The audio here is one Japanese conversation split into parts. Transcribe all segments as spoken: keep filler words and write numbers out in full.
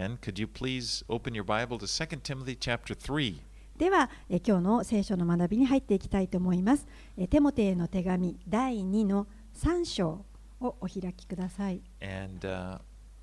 then, could you please open your Bible to Second Timothy chapter three? では、え今日の聖書の学びに入っていきたいと思います。えテモテへの手紙だいにのさん章をお開きください。 And uh,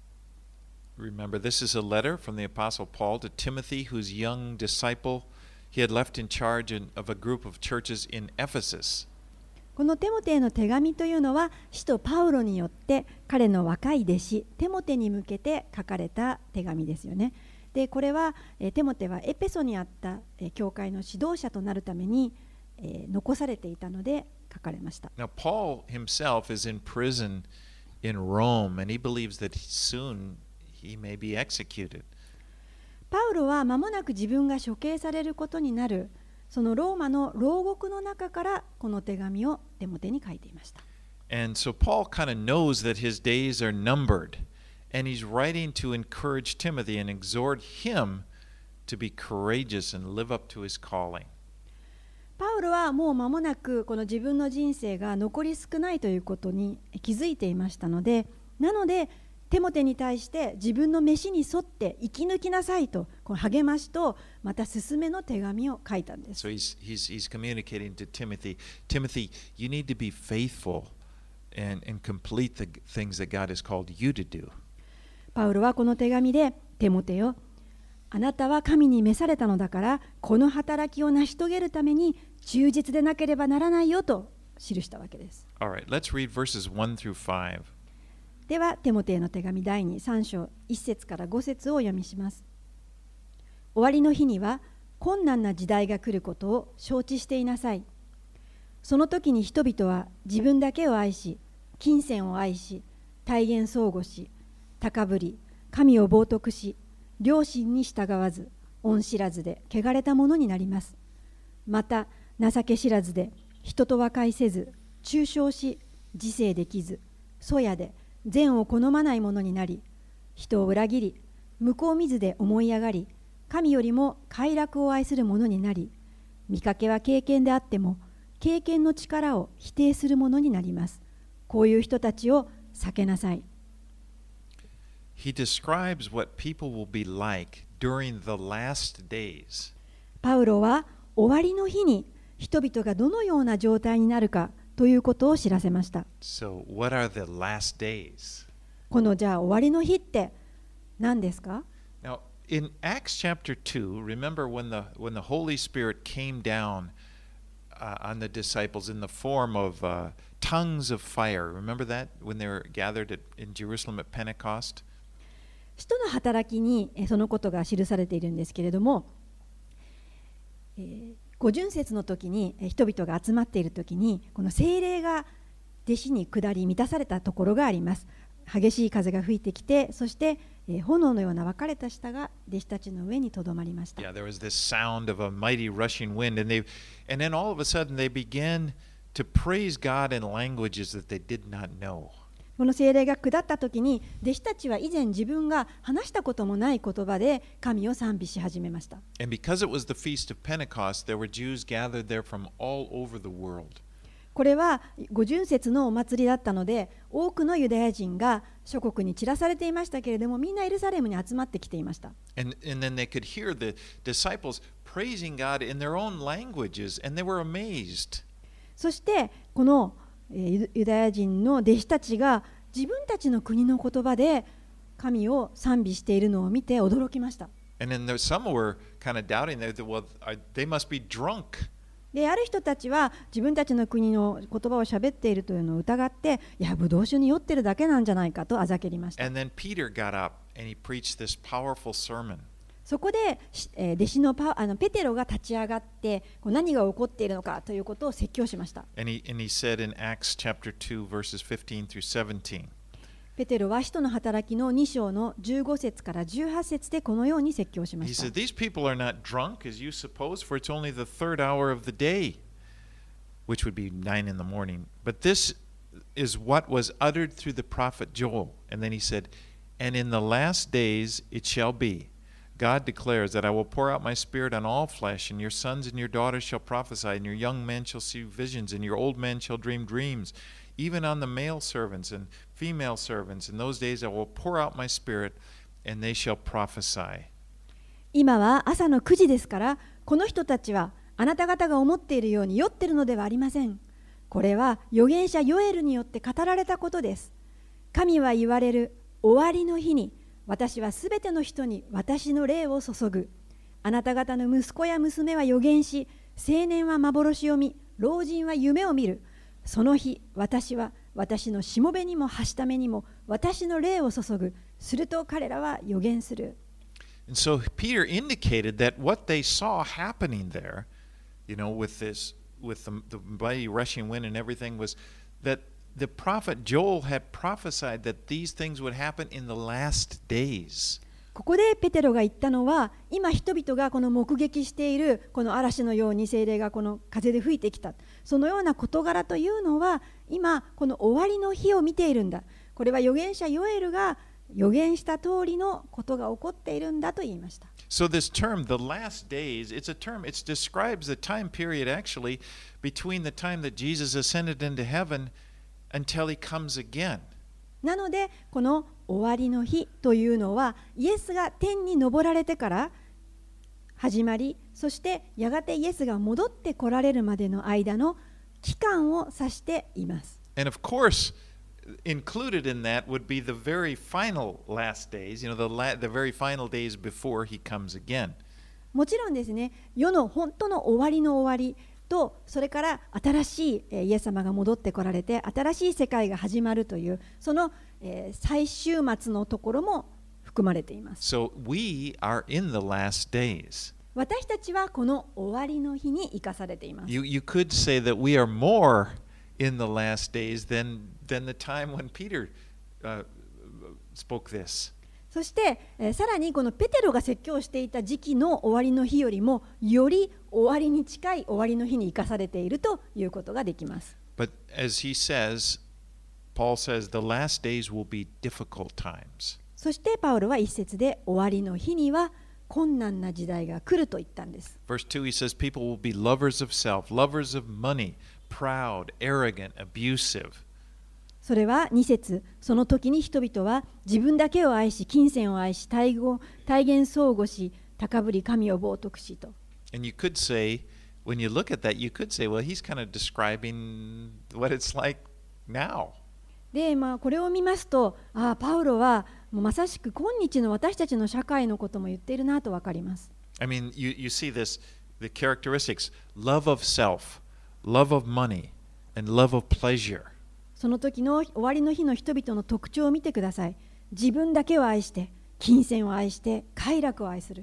remember, this is a letter from the Apostle Paul to Timothy, whose young disciple he had left in charge of a group of churches in Ephesus. このテモテへの手紙というのは、使徒パウロによって彼の若い弟子テモテに向けて書かれた手紙ですよね。で、これはテモテはエペソにあった教会の指導者となるために残されていたので書かれました。 Now, Paul himself is in prison in Rome, and he believes that soon he may be executed. パウロは間もなく自分が処刑されることになる、そのローマの牢獄の中からこの手紙をテモテに書いていました。 And so Paul kind of knows that his days are numbered, and he's writing to encourage Timothy and exhort him to be courageous and live up to his calling. パウロはもう間もなくこの自分の人生が残り少ないということに気づいていましたので、なのでテモテに対して自分の飯に沿って生き抜きなさいとこの励ましとまた勧めの手紙を書いたんです。 So he's, he's, he's communicating to Timothy, Timothy, you need to be faithful and, and complete the things that God has called you to do. パウロはこの手紙でテモテよ、あなたは神に召されたのだからこの働きを成し遂げるために忠実でなければならないよと記したわけです。 All right, let's read verses one through five. では、テモテへの手紙だいに、さん章いち節からご節をお読みします。終わりの日には困難な時代が来ることを承知していなさい。その時に人々は自分だけを愛し、金銭を愛し、大言相互し、高ぶり、神を冒涜し、良心に従わず、恩知らずで汚れたものになります。また、情け知らずで、人と和解せず、中傷し、自制できず、そやで、善を好まないものになり、人を裏切り、向こう見ずで思い上がり、神よりも快楽を愛するものになり、見かけは経験であっても、経験の力を否定するものになります。こういう人たちを避けなさい。 He describes what people will be like during the last days. パウロは終わりの日に人々がどのような状態になるかということを知らせました。 So, what are the last days? このじゃあ終わりの日って何ですか？ Now, in Acts chapter two, remember when the when the Holy Spirit came down uh, on the disciples in the form of uh, tongues of fire. Remember that when they were gathered at, in Jerusalem at Pentecost? 使徒の働きにそのことが記されているんですけれども、えー、五旬節の時に人々が集まっている時にこの聖霊が弟子に下り満たされたところがあります。激しい風が吹いてきて、そして、えー、炎のような分かれた舌が弟子たちの上にとどまりました。 Yeah, there was this sound of a mighty rushing wind, and they, and then all of a sudden they began to praise God in languages that they did not know. この聖霊が下った時に弟子たちは以前自分が話したこともない言葉で神を賛美し始めました。 And because it was the feast of Pentecost, there were Jews gathered there from all over the world. これは五旬節のお祭りだったので、多くのユダヤ人が諸国に散らされていましたけれども、みんなエルサレムに集まってきていました。 And, and then they could hear the disciples praising God in their own languages, and they were amazed. そしてこのユダヤ人の弟子たちが自分たちの国の言葉で神を賛美しているのを見て驚きました。 And then there, some were kind of doubting that, well, they must be drunk. で、ある人たちは自分たちの国の言葉を喋っているというのを疑って、いや、ブドウ酒に酔ってるだけなんじゃないかとあざけりました。 And then Peter got up and he preached this powerful sermon. そこで、えー、弟子のパあのペテロが立ち上がってこう何が起こっているのかということを説教しました。 And he, and he said in Acts chapter two, verses fifteen through seventeen. ペテロは使徒の働きのに章のじゅうご節からじゅうはち節でこのように説教しま He した。 said, These people are not drunk as you suppose, for it's only the third hour of the day, which would be nine in the morning. But this is what was uttered through the prophet Joel. And then he said, And in the last days it shall be, God declares that I will pour out my spirit on all flesh, and your sons and your daughters shall prophesy, and your young men shall see visions, and your old men shall dream dreams. Even on the male servants and female servants, in those days I will pour out my spirit, and they shall prophesy. 今は朝のくじですから、この人たちはあなた方が思っているように酔っているのではありません。これは預言者ヨエルによって語られたことです。神は言われる、終わりの日に私はすべての人に私の霊を注ぐ。あなた方の息子や娘は預言し、青年は幻を見、老人は夢を見る。その日、私は私のしもべにもはしためにも私の霊を注ぐ。すると彼らは預言する。 And so Peter indicated that what they saw happening there, you know, with this, with the, the mighty rushing wind and everything, was that the prophet Joel had prophesied that these things would happen in the last days. ここでペテロが言ったのは、今人々がこの目撃しているこの嵐のように聖霊がこの風で吹いてきた、そのような事柄というのは今この終わりの日を見ているんだ。これは預言者ヨエルが予言した通りのことが起こっているんだと言いました。 So this term, the last days, it's a term, it describes the time period actually between the time that Jesus ascended into heaven until he comes again. なので、この終わりの日というのは、イエスが天に昇られてから始まり、そしてやがてイエスが戻って来られるまでの間の期間を指しています。 And of course, included in that would be the very final last days, you know, the, la- the very final days before he comes again. もちろんですね、世の本当の終わりの終わりと、それから新しいイエス様が戻ってこられて、新しい世界が始まるという、その最終末のところも含まれています。 So we are in the last days. 私たちはこの終わりの日に生かされています。 You, you could say that we are more in the last days than, than the time when Peter uh, spoke this. そして、えー、さらにこのペテロが説教していた時期の終わりの日よりもより終わりに近い終わりの日に生かされているということができます。 But as he says, Paul says, the last days will be difficult times. そしてパウロは一節で終わりの日には困難な時代が来ると言ったんです。 Verse two, he says, people will be lovers of self, lovers of money, proud, arrogant, abusive. それはに節、その時に人々は自分だけを愛し、金銭を愛し、体現相互し、高ぶり神を冒涜しと。 And you could say, when you look at that, you could say, well, he's kind of describing what it's like now. で、まあ、これを見ますと、ああ、パウロはもうまさしく今日の私たちの社会のことも言っているなと分かります。 I mean, you, you see this, the characteristics, love of self, love of money, and love of pleasure. その時の終わりの日の人々の特徴を見てください。自分だけを愛して、金銭を愛して、快楽を愛する。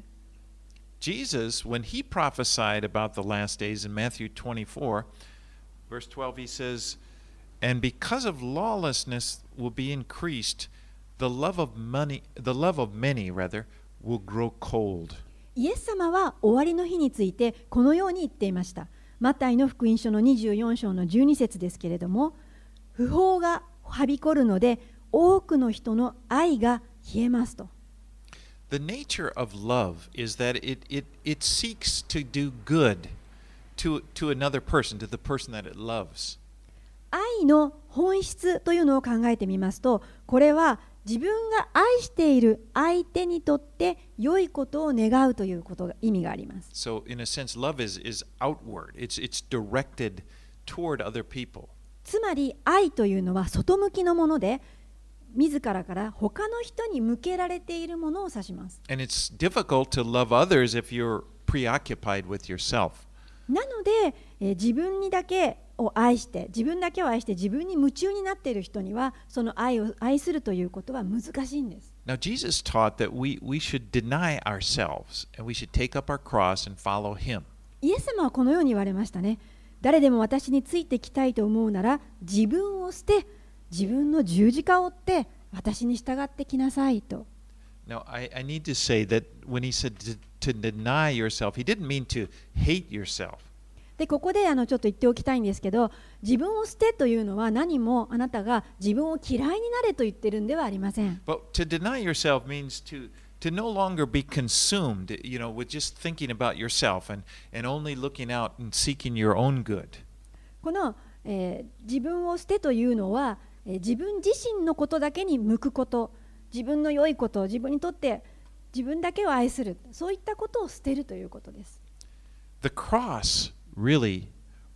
Jesus, when he prophesied about the last days in Matthew twenty-four, verse twelve, he says, and because of lawlessness will be increased, the love of money, the love of many, rather, will grow cold. イエス様は終わりの日についてこのように言っていました。マタイの福音書のにじゅうよん章のじゅうに節ですけれども、不法がはびこるので多くの人の愛が冷えますと。 The nature of love is that it, it, it seeks to do good to, to another person, to the person that it loves. 愛の本質というのを考えてみますと、これは自分が愛している相手にとって良いことを願うということが意味があります。 So, in a sense, love is, is outward. It's, it's directed toward other people. つまり愛というのは外向きのもので、自らから他の人に向けられているものを指します。 And it's difficult to love others if you're preoccupied with yourself. なので、えー、自分にだけを愛して、自分だけを愛して自分に夢中になっている人には、その愛を愛するということは難しいんです。 Now, Jesus taught that we, we should deny ourselves and we should take up our cross and follow him. イエス様はこのように言われましたね。誰でも私についてきたいと思うなら、自分を捨て、自分の十字架を追って私に従ってきなさいと。 Now, I, I need to say that when he said to, to deny yourself, he didn't mean to hate yourself. で、ここであのちょっと言っておきたいんですけど、自分を捨てというのは何もあなたが自分を嫌いになれと言ってるんではありません。 But to deny yourself means to, to no longer be consumed, you know, with just thinking about yourself and, and only looking out and seeking your own good. この、えー、自分を捨てというのは、えー、自分自身のことだけに向くこと、 自分の良いことを自分にとって自分だけを愛する、そういったことを捨てるということです。 The cross really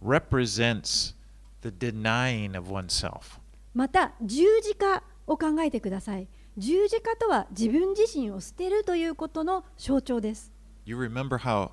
represents the denying of oneself. また十字架を考えてください。十字架とは自分自身を捨てるということの象徴です。 You remember how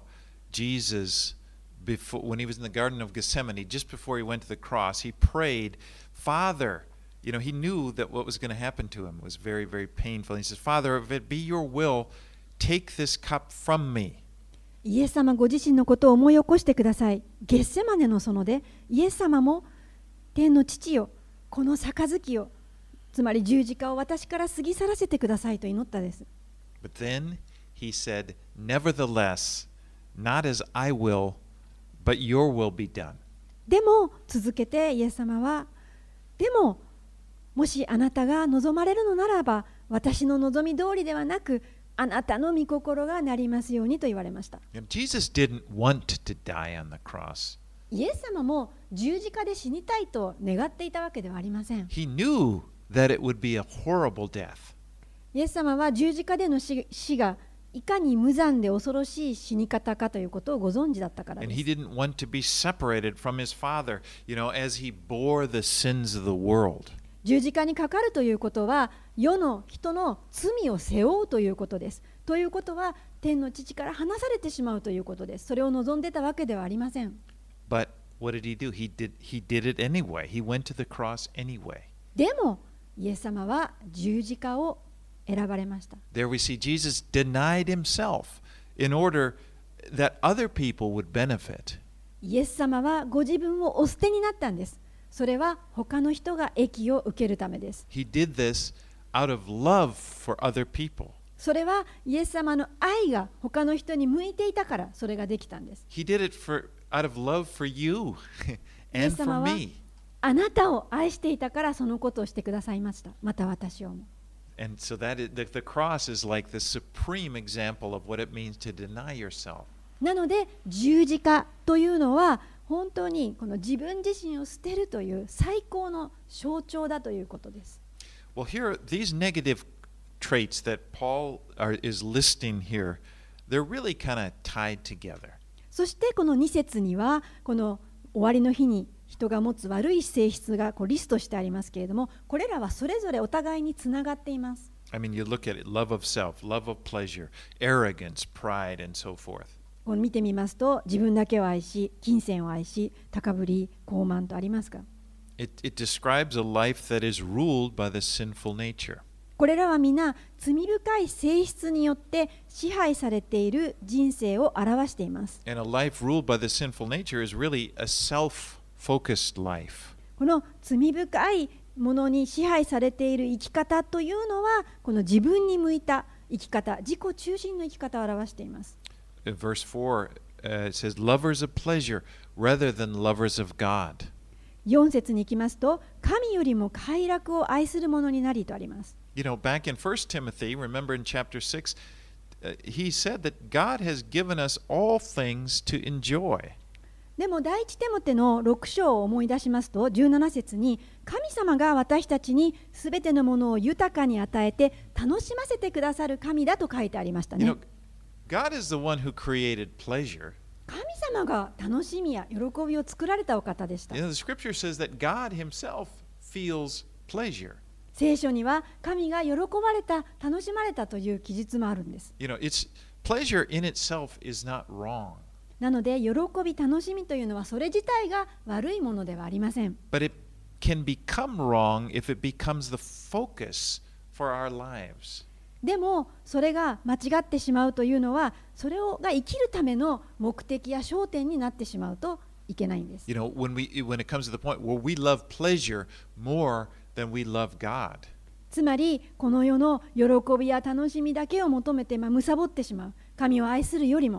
Jesus, before, when he was in the Garden of Gethsemane, just before he went to the cross, he prayed, Father, you know, he knew that what was going to happen to him was very, very painful. He says, Father, if it be your will, take this cup from me. イエス様ご自身のことを思い起こしてください。ゲッセマネの園でイエス様も天の父よ、この杯を、つまり十字架を私から過ぎ去らせてくださいと祈ったです。 But then he said, Nevertheless, not as I will, but your will be done. でも続けてイエス様は、でももしあなたが望まれるのならば、私の望み通りではなく、あなたの御心がなりますようにと言われました。 Jesus didn't want to die on the cross. イエス様も十字架で死にたいと願っていたわけではありません。 He knew that it would be a horrible death. イエス様は十字架での 死, 死がいかに無残で恐ろしい死に方かということをご存知だったからです。 And he didn't want to be separated from his Father, you know, as he bore the sins of the world. 十字架にかかるということは世の人の罪を背負うということです。ということは天の父から離されてしまうということです。それを望んでたわけではありません。 But what did he do? He did, he did it anyway. He went to the cross anyway. でもイエス様は十字架を選ばれました。 There we see Jesus denied himself in order that other people would benefit. イエス様はご自分をお捨てになったんです。それは他の人が益を受けるためです。 He did this out of love for other people. それはイエス様の愛が他の人に向いていたからそれができたんです。 He did it for, out of love for you イエ and ス様 for は me. あなたを愛していたからそのことをしてくださいました。また私をも。 And so that is, the, the cross is like the supreme example of what it means to deny yourself. なので十字架というのは本当にこの自分自身を捨てるという最高の象徴だということです。 Well, here, these negative traits that Paul are, is listing here, they're really kind of tied together. そしてこのに節にはこの終わりの日に人が持つ悪い性質がこうリストしてありますけれども、これらはそれぞれお互いにつながっています。 I mean, you look at it, love of self, love of pleasure, arrogance, pride, and so forth. こう見てみますと、自分だけを愛し、金銭を愛し、高ぶり、傲慢とありますか。 It, it describes a life that is ruled by the sinful nature. これらは皆罪深い性質によって支配されている人生を表しています。 And a life ruled by the sinful nature is really a self-focused life. この罪深いものに支配されている生き方というのは、この自分に向いた生き方、自己中心の生き方を表しています。 Verse four uh, it says, lovers of pleasure rather than lovers of God. よん節に行きますと、神よりも快楽を愛する者になりとあります。 You know, back in First Timothy, remember in chapter six, uh, he said that God has given us all things to enjoy. でも第一テモテのろく章を思い出しますと、じゅうなな節に神様が私たちにすべてのものを豊かに与えて楽しませてくださる神だと書いてありましたね。 You know, God is the one who created pleasure. 神様が楽しみや喜びを作られたお方でした。 You know, the scripture says that God himself feels pleasure. 聖書には神が喜ばれた、楽しまれたという記述もあるんです。 You know, it's pleasure in itself is not wrong. なので喜び、楽しみというのはそれ自体が悪いものではありません。 But it can become wrong if it becomes the focus for our lives. でもそれが間違ってしまうというのは、それをが生きるための目的や焦点になってしまうといけないんです。 You know, when we when it comes to the point where we love pleasure more than we love God. つまりこの世の喜びや楽しみだけを求めて、まあ、貪ってしまう。神を愛するよりも。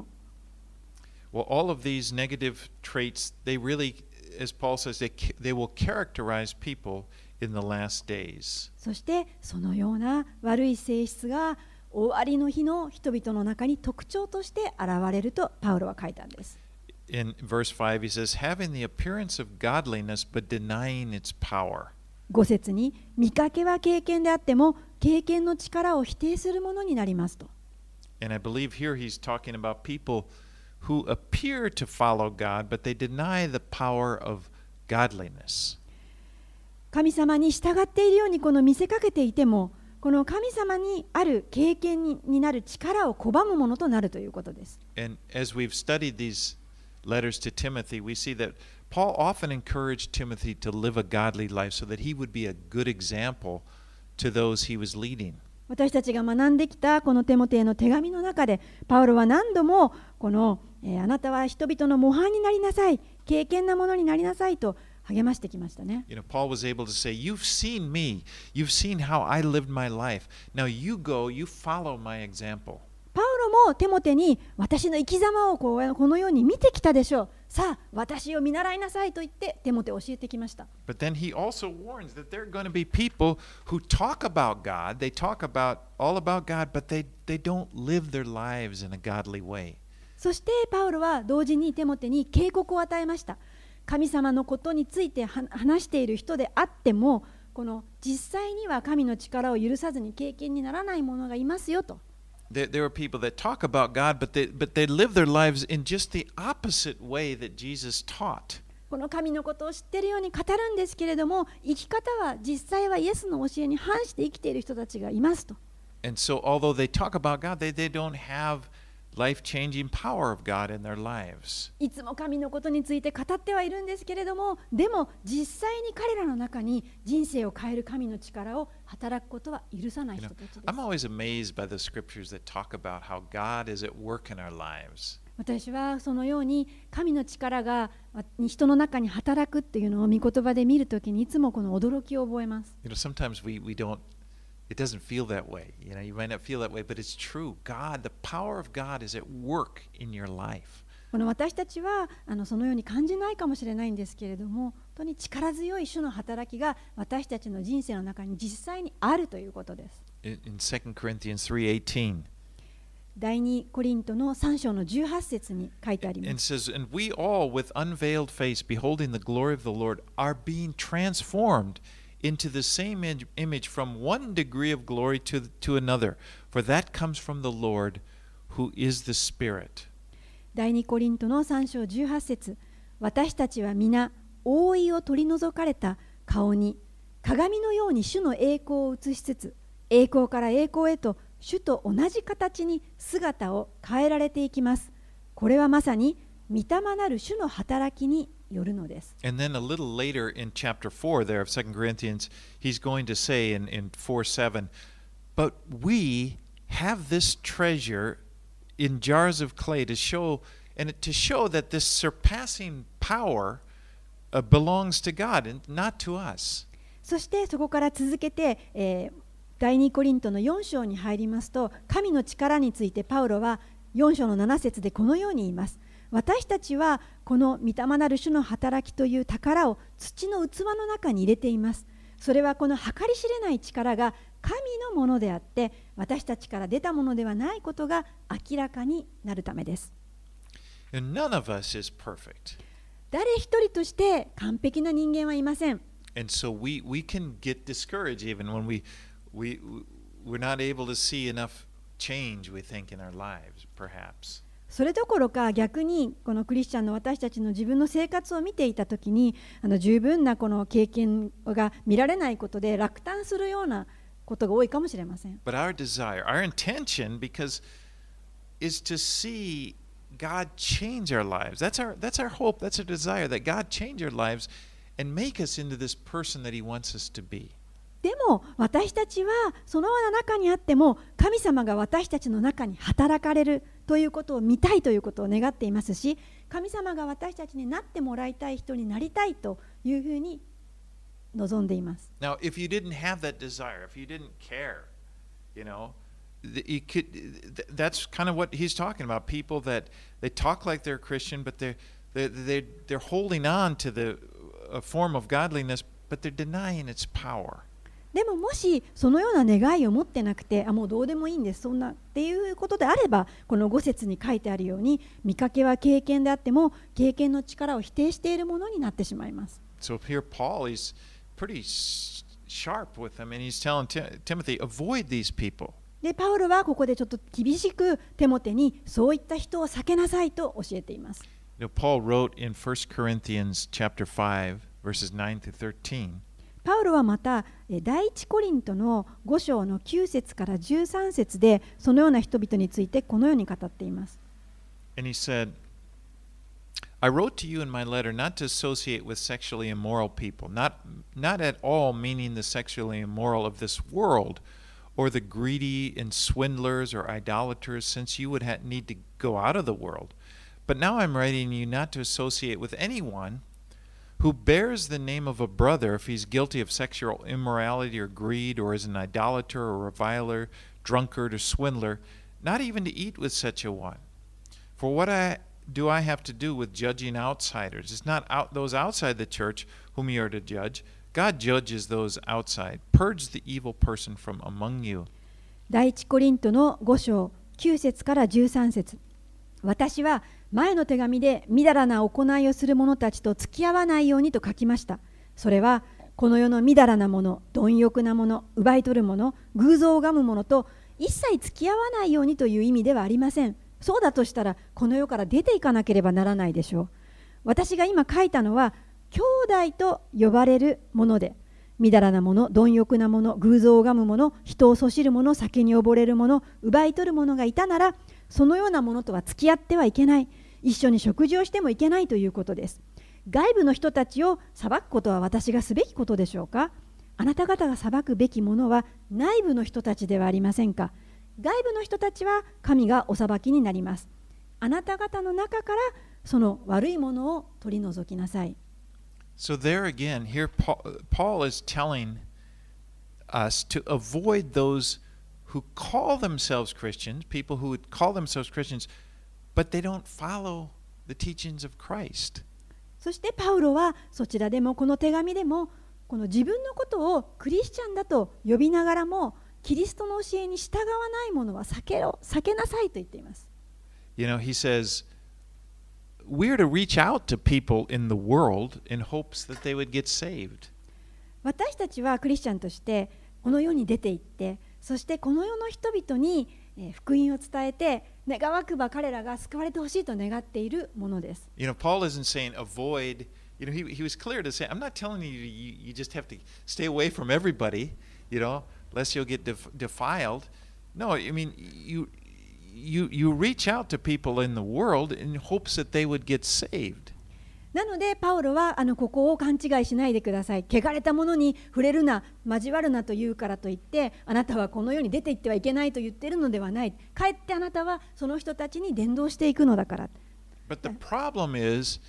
Well, all of these negative traits, they really, as Paul says, they, they will characterize people in the last days. そしてそのような悪い性質が終わりの日の人々の中に特徴として現れるとパウロは書いたんです。 In verse five, he says, having the appearance of godliness but denying its power. ご節に見かけは敬虔であっても経験の力を否定するものになりますと。 And I believe here he's talking about people who appear to follow God, but they deny the power of godliness. 神様に従っているようにこの見せかけていても、この神様にある経験 に, になる力を拒むものとなるということです。 And as we've studied these letters to Timothy, we see that Paul often encouraged Timothy to live a godly life so that he would be a good example to those he was leading. 私たちが学んできたこのテモテへの手紙の中で、パウロは何度もこの、えー、あなたは人々の模範になりなさい、敬虔なものになりなさいと励ましてきましたね。 You know, Paul was able to say, "You've seen me, you've seen how I lived my life. Now you go, you follow my example." パウロもテモテに私の生き様をこうこのように見てきたでしょう。さあ、私を見習いなさいと言ってテモテを教えてきました。 But then he also warns that there are going to be people who talk about God, they talk about all about God, but they, they don't live their lives in a godly way. そしてパウロは同時にテモテに警告を与えました。神様のことについて話している人であっても、この実際には神の力を許さずに経験にならない者がいますよと。 There, there are people that talk about God, but they, but they live their lives in just the opposite way that Jesus taught. この神のことを知っているように語るんですけれども、生き方は実際はイエスの教えに反して生きている人たちがいますと。 And so, although they talk about God, they, they don't have life-changing power of God in their lives. いつも神のことについて語ってはいるんですけれども、でも実際に彼らの中に人生を変える神の力を働くことは許さない人たちです。 You know, I'm always amazed by the scriptures that talk about how God is at work in our lives. 私はそのように神の力が人の中に働くっていうのを御言葉で見るときにいつもこの驚きを覚えます。 You know, sometimes we, we don't, it doesn't feel that way. You know, you might not feel that way, but it's true. God, the power of God is at work in your life. この私たちはあのそのように感じないかもしれないんですけれども、本当に力強い主の働きが私たちの人生の中に実際にあるということです。 In, in Second Corinthians three eighteen, 第二コリントのさん章のじゅうはち節に書いてあり and ま it す。 says, "And we all, with unveiled face, beholding the glory of the Lord, are being transformed into the same im- image from one degree of glory to, to another. For that comes from the Lord, who is the Spirit." 第二コリントのさん章じゅうはち節、私たちは皆覆いを取り除かれた顔に鏡のように主の栄光を映しつつ、栄光から栄光へと主と同じ形に姿を変えられていきます。これはまさに御霊なる主の働きによるのです。 And then a little later in chapter four there of Second Corinthians, he's going to say in, in four seven, "But we have this treasure in jars of clay to show, and to show that this surpassing power uh, belongs to God and not to us." そしてそこから続けて、えー、第二コリントのよん章に入りますと、神の力についてパウロはよん章のなな節でこのように言います。私たちはこの御霊なる主の働きという宝を土の器の中に入れています。それはこの計り知れない力が神のものであって、私たちから出たものではないことが明らかになるためです。 And none of us is perfect. 誰一人として完璧な人間はいません。 And so we, we can get discouraged even when we, we, we're not able to see enough change, we think, in our lives, perhaps. それどころか逆にこのクリスチャンの私たちの自分の生活を見ていたときに、あの十分なこの経験が見られないことで落胆するようなことが多いかもしれません。 But our desire, our intention, because is to see God change our lives. That's our, that's our hope, that's our desire, that God change our lives and make us into this person that He wants us to be. でも私たちはそのような中にあっても神様が私たちの中に働かれるということを見たいということを願っていますし、神様が私たちになってもらいたい人になりたいというふうに望んでいます。 Now, if you didn't have that desire, if you didn't care, you know, you could, that's kind of what he's talking about. People that they talk like they're Christian, but they're, they're, they're, they're holding on to the a form of godliness, but they're denying its power. でももしそのような願いを持ってなくて、あもうどうでもいいんですそんなっていうことであれば、このご節に書いてあるように、見かけは経験であっても経験の力を否定しているものになってしまいます。 So here Paul is pretty sharp with them, and he's telling Ti- Timothy, avoid these people. でパウロはここでちょっと厳しくテモテにそういった人を避けなさいと教えています。 You know, Paul wrote in First Corinthians chapter five, verses nine through thirteen. パウロはまたえ第一コリントのご章のきゅう節からじゅうさん節でそのような人々についてこのように語っています。 And he said, I wrote to you in my letter not to associate with sexually immoral people, not, not at all meaning the sexually immoral of this world, or the greedy and swindlers or idolaters, since you would ha- need to go out of the world. But now I'm writing you not to associate with anyone who bears the name of a brother if he's guilty of sexual immorality or greed, or is an idolater or reviler, drunkard or swindler, not even to eat with such a one. For what I do I have to do with judging outsiders? It's not out, those outside the church whom you are to judge. God judges those outside. Purge the evil person from among you. 第一コリントのご章きゅう節からじゅうさん節。私は前の手紙でみだらな行いをする者たちと付き合わないようにと書きました。それはこの世のみだらなもの、貪欲なもの、奪い取るもの、偶像を拝むものと一切付き合わないようにという意味ではありません。そうだとしたらこの世から出ていかなければならないでしょう。私が今書いたのは兄弟と呼ばれるもので、みだらなもの、貪欲なもの、偶像を拝むもの、人をそしるもの、酒に溺れるもの、奪い取る者がいたなら、そのようなものとは付き合ってはいけない、一緒に食事をしてもいけないということです。外部の人たちを裁くことは私がすべきことでしょうか？あなた方が裁くべきものは内部の人たちではありませんか？外部の人たちは神がお裁きになります。あなた方の中からその悪いものを取り除きなさい。 So there again, here Paul, Paul is telling us to avoid those who call themselves Christians, people who would call themselves Christians, but they don't follow the teachings of Christ. そしてパウロはそちらでもこの手紙でもこの自分のことをクリスチャンだと呼びながらもキリストの教えに従わないものは避けろ、避けなさいと言っています。 You know, he says, we're to reach out to people in the world in hopes that they would get saved. 私たちはクリスチャンとしてこの世に出て行って、そしてこの世の人々に福音を伝えて、願わくば彼らが救われてほしいと願っているものです。 You know, Paul isn't saying avoid, you know, he, he was clear to say, I'm not telling you, you you just have to stay away from everybody, you know, lest you'll get def, defiled. No, I mean, you, you, you reach out to people in the world in hopes that they would get saved. なのでパウロはあのここを勘違いしないでください。汚れたものに触れるな、交わるなと言うからといってあなたはこの世に出て行ってはいけないと言っているのではない。かえってあなたはその人たちに伝道していくのだから。 But the problem is,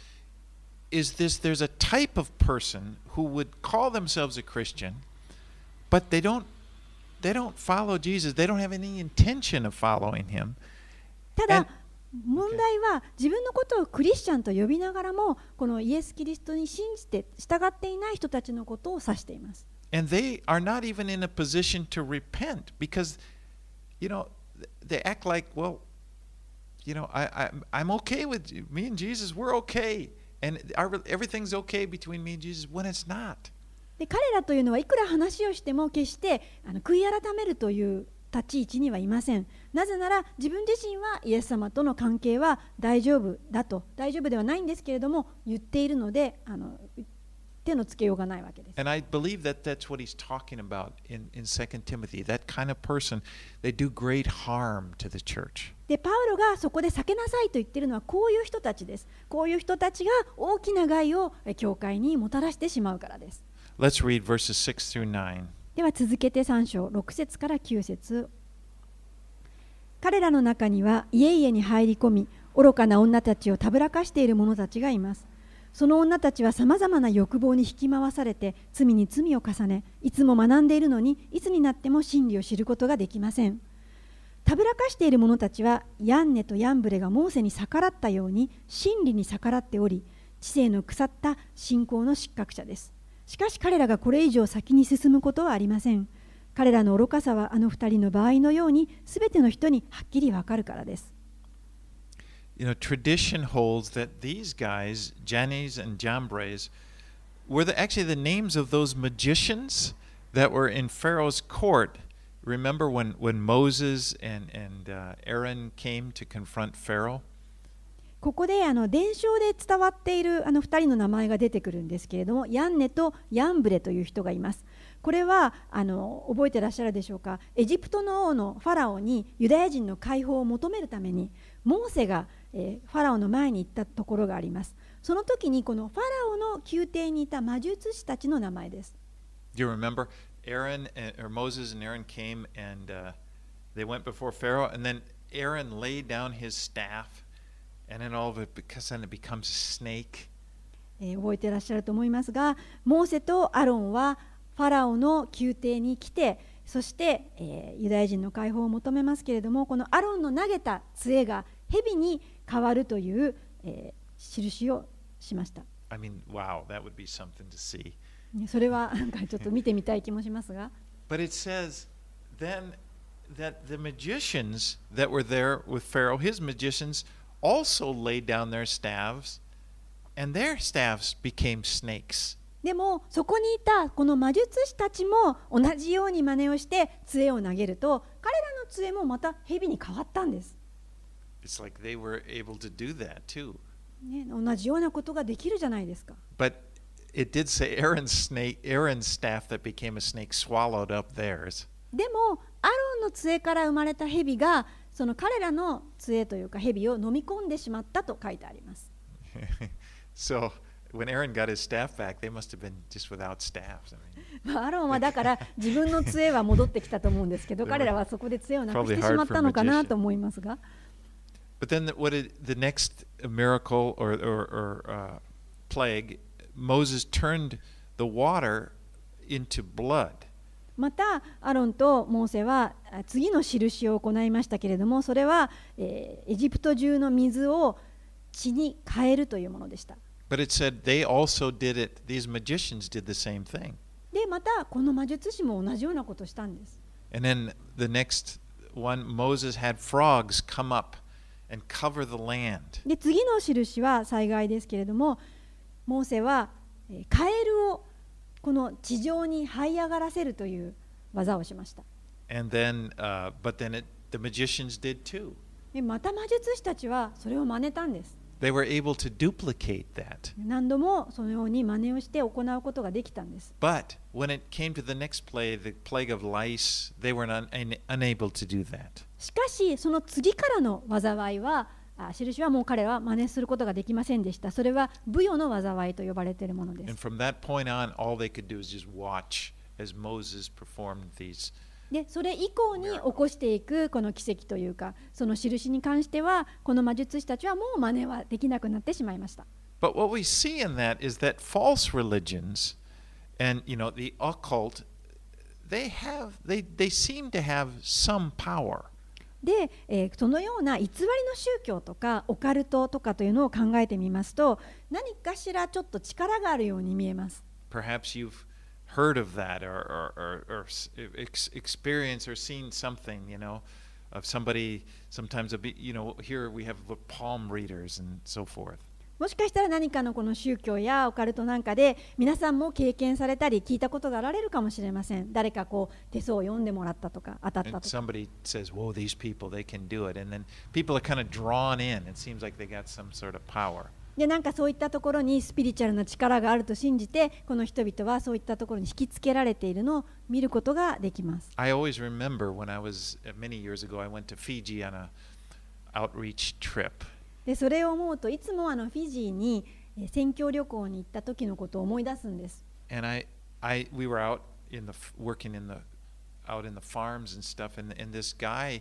is this there's a type of person who would call themselves a Christian, but they don't, they don't follow Jesus. They don't have any intention of following him. ただ問題は自分のことをクリスチャンと呼びながらもこのイエス・キリストに信じて従っていない人たちのことを指しています。 And they are not even in a position to repent because, you know, they act like, well, you know, I, I, I'm okay with you. Me and Jesus, we're okay. And our, everything's okay between me and Jesus when it's not. で彼らというのはいくら話をしても決してあの悔い改めるという立ち位置にはいません。なぜなら自分自身はイエス様との関係は大丈夫だと、大丈夫ではないんですけれども言っているのであの手のつけようがないわけです。 And I believe that that's what he's talking about in, in Second Timothy. That kind of person, they do great harm to the church. でパウロがそこで避けなさいと言っているのはこういう人たちです。こういう人たちが大きな害を教会にもたらしてしまうからです。 Let's read verses six through nine. では続けてさん章ろく節からきゅう節。彼らの中には家々に入り込み愚かな女たちをたぶらかしている者たちがいます。その女たちはさまざまな欲望に引き回されて罪に罪を重ね、いつも学んでいるのにいつになっても真理を知ることができません。たぶらかしている者たちはヤンネとヤンブレがモーセに逆らったように真理に逆らっており、知性の腐った信仰の失格者です。しかし彼らがこれ以上先に進むことはありません。彼らの愚かさはあの二人の場合のようにすべての人にはっきりわかるからです。 You know, tradition holds that these guys, Jannes and Jambres, were the, actually the names of those magicians that were in Pharaoh's court. Remember when, when Moses and, and uh, Aaron came to confront Pharaoh? ここであの伝承で伝わっているあのふたりの名前が出てくるんですけれども、ヤンネとヤンブレという人がいます。これはあの覚えてらっしゃるでしょうか。エジプトの王のファラオにユダヤ人の解放を求めるためにモーセが、えー、ファラオの前に行ったところがあります。その時にこのファラオの宮廷にいた魔術師たちの名前です。 Do you remember Aaron and, or Moses and Aaron came and uh, they went before Pharaoh, and then Aaron laid down his staff, and then all of it, because then it becomes a snake. えー、覚えてらっしゃると思いますが、モーセとアロンはファラオの宮廷に来て、そして、えー、ユダヤ人の解放を求めますけれども、このアロンの投げた杖が蛇に変わるという、えー、印をしました。 I mean, wow, that would be something to see. それはなんかちょっと見てみたい気もしますが。 But it says then that the magicians that were there with Pharaoh, his magicians, also laid down their staves, and their staves became snakes. でもそこにいたこの魔術師たちも同じように真似をして杖を投げると、彼らの杖もまた蛇に変わったんです。 It's like they were able to do that too. ね、同じようなことができるじゃないですか。 But it did say Aaron's snake, Aaron's staff that became a snake swallowed up theirs. でもアロンの杖から生まれた蛇がその彼らの杖というか蛇を飲み込んでしまったと書いてあります。 So when Aaron got his staff back, they must have been just without staffs. I mean, アロンはだから自分の杖は戻ってきたと思うんですけど、彼らはそこで杖をなくしてしまったのかなと思いますが。 But then the, what it, the next miracle or, or, or uh, plague, Moses turned the water into blood. またアロンとモーセは次の印を行いましたけれども、それは、えー、エジプト中の水を血に変えるというものでした。 But it said they also did it, these magicians did the same thing. で、またこの魔術師も同じようなことをしたんです。 And then the next one, Moses had frogs come up and cover the land. で、次の印は災害ですけれども、モーセは、えー、カエルをこの地上に這い上がらせるという技をしました。 And then, uh, but then it, the magicians did too. で、また魔術師たちはそれを真似たんです。 They were able to duplicate that. 何度もそのように真似をして行うことができたんです。 But when it came to the next plague, the plague of lice, they were un, un, unable to do that. しかし、その次からの災いは、あ、印はもう彼らは真似することができませんでした。それはブヨの災いと呼ばれているもので And す。 from that point on, all they could do is just watch as Moses performed these. で、それ以降に起こしていくこの奇跡というか、その印に関しては、この魔術師たちはもう真似はできなくなってしまいました。 But what we see in that is that false religions and, you know, the occult, they have, they, they seem to have some power. で、えー、そのような偽りの宗教とかオカルトとかというのを考えてみますと、何かしらちょっと力があるように見えます。 Perhaps you've heard of that or, or, or, or ex- experienced or seen something, you know, of somebody, sometimes, a bit, you know, here we have palm readers and so forth. もしかしたら何かのこの宗教やオカルトなんかで皆さんも経験されたり聞いたことがあられるかもしれません。誰かこう手相を読んでもらったとか当たった And とか。 somebody says, whoa, these people, they can do it. And then people are kind of drawn in. It seems like they got some sort of power. で、なんかそういったところにスピリチュアルな力があると信じて、この人々はそういったところに引きつけられているのを見ることができます。 I always remember when I was, many years ago, I went to Fiji on an outreach trip. で、それを思うといつもあのフィジーに宣教旅行に行った時のことを思い出すんです。 And I, I, we were out in the, working in the, out in the farms and stuff. And, and this guy,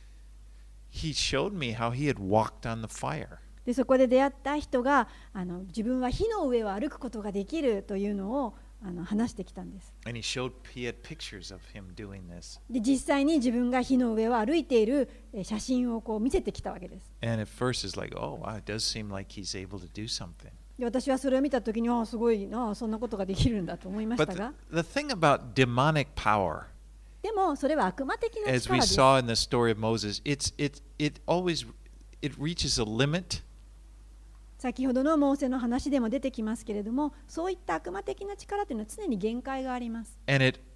he showed me how he had walked on the fire. で、そこで出会った人があの自分は火の上を歩くことができるというのをあの話してきたんです。 And he showed, he had pictures of him doing this. で、実際に自分が火の上を歩いているえ写真をこう見せてきたわけです。 And at first it's like, oh, wow, it does seem like he's able to do something. で、私はそれを見たときに、ああ、すごいな、そんなことができるんだと思いまし But たが、 the, the thing about demonic power, でもそれは悪魔的な as 力 we です。 saw in the story of Moses, it's, it, it always, it reaches a limit. 先ほどのモーセの話でも出てきますけれども、そういった悪魔的な力というのは常に限界があります。 And it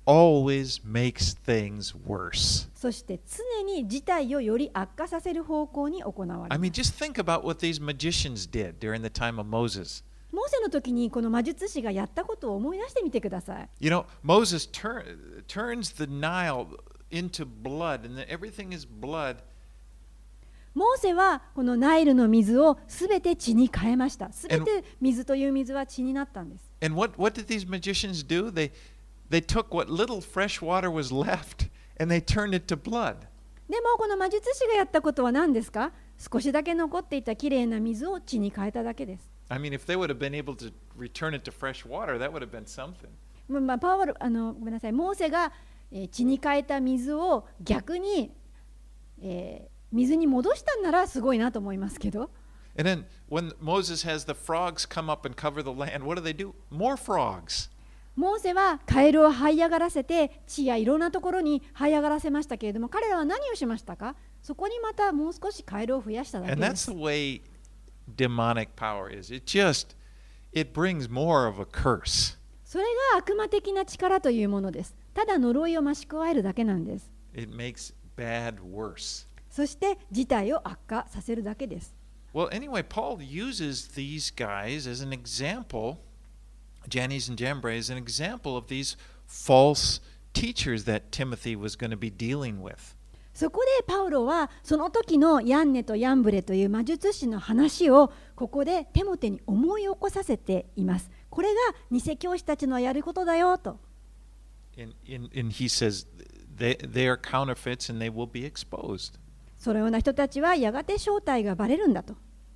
always makes things worse. そして常に事態をより悪化させる方向に行われ I ま mean, す。 just think about what these magicians did during the time of Moses. モーセの時にこの魔術師がやったことを思い出してみてください。 You know, Moses tur- turns the Nile into blood, and then everything is blood. モーセはこのナイルの水をすべて血に変えました。すべて水という水は血になったんです。 And what, what did these magicians do? They, they took what little fresh water was left, and they turned it to blood. でもこの魔術師がやったことは何ですか？少しだけ残っていたきれいな水を血に変えただけです。 I mean, if they would have been able to return it to fresh water, that would have been something. まあまあ、パウロあのごめんなさい、モーセが、えー血に変えた水を逆に、えー水に戻したんならすごいなと思いますけど、 And then when Moses has the frogs come up and cover the land, what do they do? More frogs. モーセはカエルを這い上がらせて地やいろんなところに這い上がらせましたけれども、彼らは何をしましたか？そこにまたもう少しカエルを増やしただけ And で that's す the。way demonic power is. It just, it brings more of a curse. それが悪魔的な力というものです。ただ呪いを増し加えるだけなんです。 It makes bad worse. そして事態を悪化させるだけです。 Well, anyway, Paul uses these guys as an example, Jannes and Jambres, as an example of these false teachers that Timothy was going to be dealing with. そこでパウロはその時のヤンネとヤンブレという魔術師の話をここでテモテに思い起こさせています。これが偽教師たちのやることだよと。 And, and, and he says they, they are counterfeits and they will be exposed. そのような人たちはやがて正体がバレるんだと。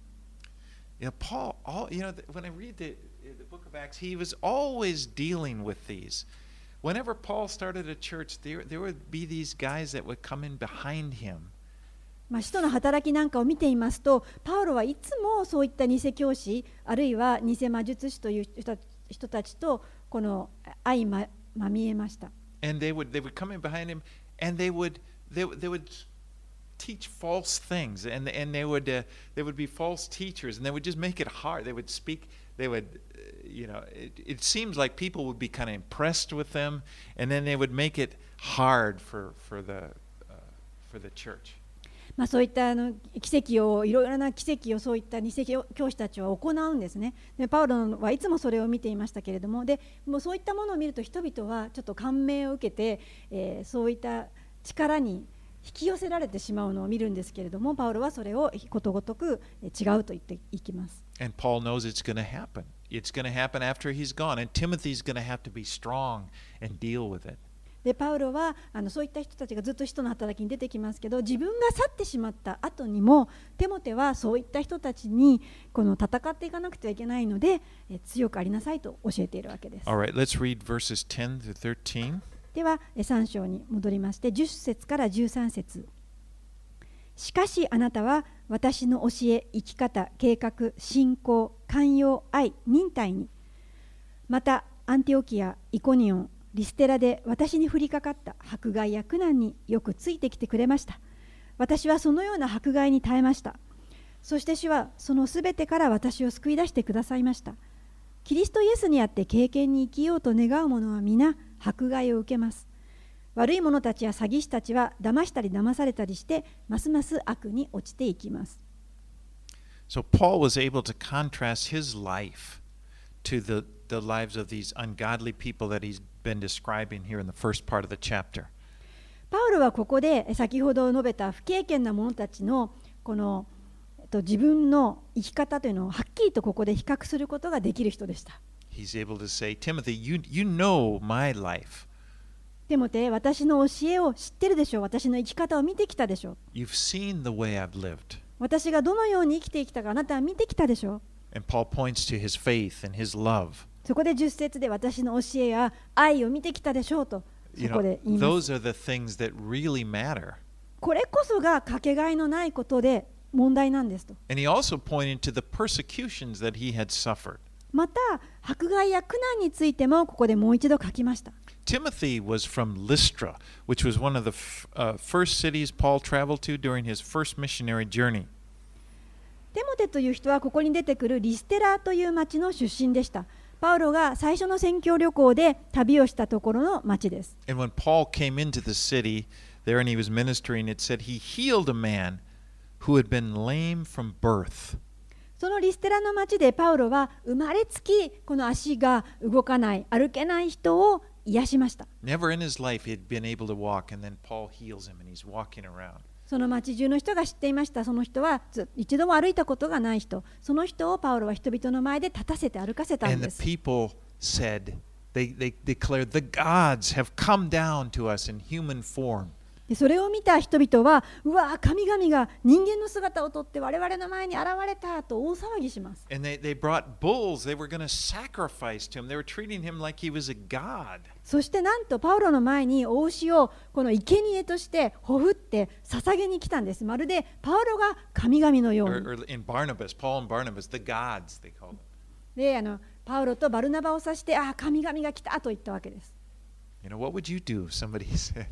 You know, Paul, all, you know, when I read the, the book of Acts, he was always dealing with these. Whenever Paul started a church, there, there would be these guys that would come in behind him. まあ、使徒の働きなんかを見ていますと、パウロはいつもそういった偽教師、あるいは偽魔術師という人人たちとこの相ままみえました。 And they would, they would come in behind him and they would, they, they would teach false things. And, and they, would, uh, they would be false teachers and they would just make it hard. They would speak, they would, uh, you know, it, it seems like people would be kind of impressed with them and then they would make it hard for, for, the, uh, for the church. まあ、そういったあの奇跡をいろいろな奇跡をそういった偽教師たちは行うんですね。でパウロはいつもそれを見ていましたけれども、でもうそういったものを見ると人々はちょっと感銘を受けて、えー、そういった力に引き寄せられてしまうのを見るんですけれども、パウロはそれをことごとく違うと言っていきます。 And Paul knows it's going to happen. It's going to happen after he's gone. And Timothy's going to have to be strong and deal with it. でパウロはあのそういった人たちがずっと使徒の働きに出てきますけど、自分が去ってしまった後にもテモテはそういった人たちにこの戦っていかなくてはいけないので、え強くありなさいと教えているわけです。 All right, let's read verses ten through thirteen. ではさん章に戻りましてじゅっ節からじゅうさん節。しかしあなたは私の教え、生き方、計画、信仰、寛容、愛、忍耐に、またアンティオキア、イコニオン、リステラで私に降りかかった迫害や苦難によくついてきてくれました。私はそのような迫害に耐えました。そして主はそのすべてから私を救い出してくださいました。キリストイエスにあって敬虔に生きようと願う者は皆迫害を受けます。悪い者たちや詐欺師たちは騙したり騙されたりしてますます悪に落ちていきます。 So Paul was able to contrast his life to the, the lives of these ungodly people that he's been describing here in the first part of the chapter. パウロはここで先ほど述べた不敬虔な者たちのこの、えっと、自分の生き方というのをはっきりとここで比較することができる人でした。 He's able to say, Timothy, you, you know my life. テモテ、私の教えを知ってるでしょう。私の生き方を見てきたでしょう。 You've seen the way I've lived. 私がどのように生きてきたかあなたは見てきたでしょう。 And Paul points to his faith and his love. そこでじゅっ節で私の教えや愛を見てきたでしょうとそ You こ know, で言います。 those are the things that really matter. これこそがかけがえのないことで問題なんですと。 And he also pointed to the persecutions that he had suffered. また迫害や苦難についてもここでもう一度書きました。 Timothy was from Lystra, which was one of the f- uh, first cities Paul traveled to during his first missionary journey. テモテという人はここに出てくるリステラという町の出身でした。 パウロが最初の宣教旅行で旅をしたところの町です。 And when Paul came into the city there and he was ministering, it said he healed a man who had been lame from birth. そのリステラの町でパウロは生まれつきこの足が動かない、歩けない人を癒しました。 Never in his life he had been able to walk, and then Paul heals him and he's walking around. その町中の人が知っていました。その人は一度も歩いたことがない人。その人をパウロは人々の前で立たせて歩かせたん And で the す。 people said, they, they declared, the gods have come down to us in human form. でそれを見た人々は、うわ、神々が人間の姿をとって我々の前に現れたと大騒ぎします。 And they, they brought bulls. They were going to sacrifice to him. They were treating him like he was a god. そしてなんとパウロの前にお牛をこの生贄としてほふって捧げに来たんです。まるでパウロが神々のよう Or, に。 or in Barnabas, Paul and Barnabas, the gods, they called them. であのパウロとバルナバを指して、ああ、神々が来たと言ったわけです。 You know, what would you do if somebody said,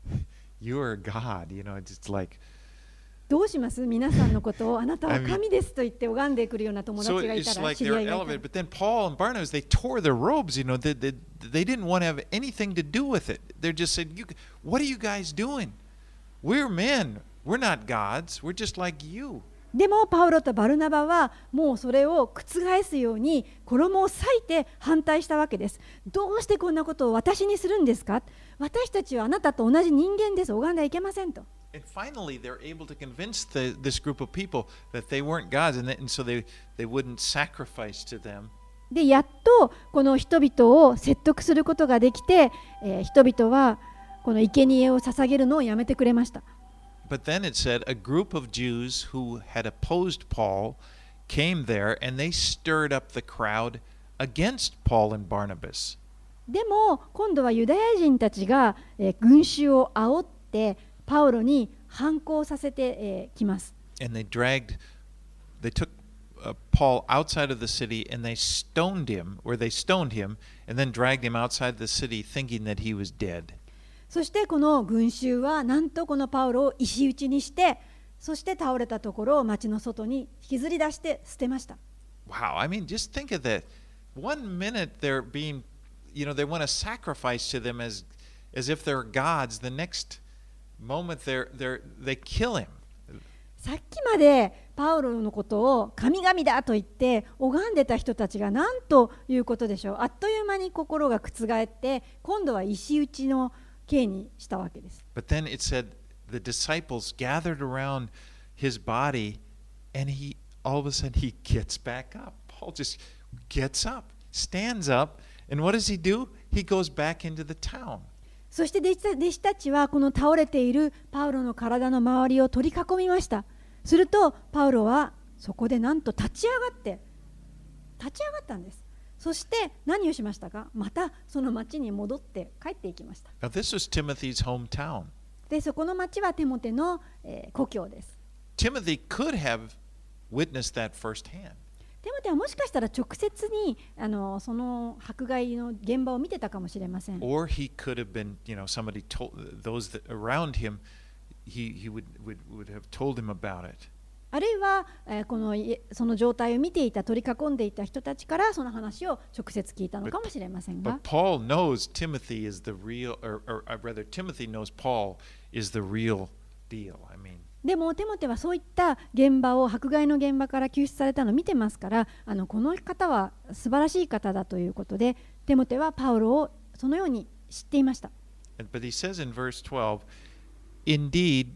you are a god? You know, it's like, どうします？皆さんのことをあなたは神ですと言って拝んでくるような友 so 達がいた it's ら、 like 知り they 合 were いがいたら。 elevated. But then Paul and Barnabas, they tore their robes. You know, they, they, they didn't want to have anything to do with it. They just said, you, what are you guys doing? We're men. We're not gods. We're just like you. でもパウロとバルナバはもうそれを覆すように衣を裂いて反対したわけです。どうしてこんなことを私にするんですか？私たちはあなたと同じ人間です。拝んではいけませんと。 And finally, they're able to convince the, this group of people that they weren't gods, and, that, and so they, they wouldn't sacrifice to them. でやっとこの人々を説得することができて、えー人々はこの生贄を捧げるのをやめてくれました。 But then it said a group of Jews who had opposed Paul came there, and they stirred up the crowd against Paul and Barnabas. でも今度はユダヤ人たちが、えー群衆を煽ってパウロに反抗させて、えーきます。 And they dragged, they took uh, Paul outside of the city, and they stoned him, or they stoned him, and then dragged him outside the city, thinking that he was dead. そしてこの群衆はなんとこのパウロを石打ちにして、そして倒れたところを町の外に引きずり出して捨てました。 Wow, I mean, just think of that. One minute they're being, you know, they want to sacrifice to them as, as if they're gods. The next moment they're, they're, they kill him. さっきまでパウロのことを神々だと言って拝んでた人たちが何ということでしょう。あっという間に心が覆って今度は石打ちの刑にしたわけです。 But then it said the disciples gathered around his body, and he all of a sudden he gets back up. Paul just gets up, stands up, and what does he do? He goes back into the town. そして弟子た弟子たちはこの倒れているパウロの体の周りを取り囲みました。するとパウロはそこでなんと立ち上がって立ち上がったんです。そして何をしましたか？またその町に戻って帰っていきました。 Now this was Timothy's hometown. でそこの町はテモテの、えー故郷です。 Timothy could have witnessed that firsthand. テモテはもしかしたら直接にあのその迫害の現場を見てたかもしれません。 Or he could have been, you know, somebody told those that around him, he, he would, would, would have told him about it. あるいは、えーこのいその状態を見ていた取り囲んでいた人たちからその話を直接聞いたのかもしれませんが、 But Paul knows Timothy is the real, or, or, or rather, Timothy knows Paul is the real deal. I mean, でもテモテはそういった現場を迫害の現場から救出されたのを見てますから、あのこの方は素晴らしい方だということで、テモテはパウロをそのように知っていました。 but he says in verse twelve, indeed,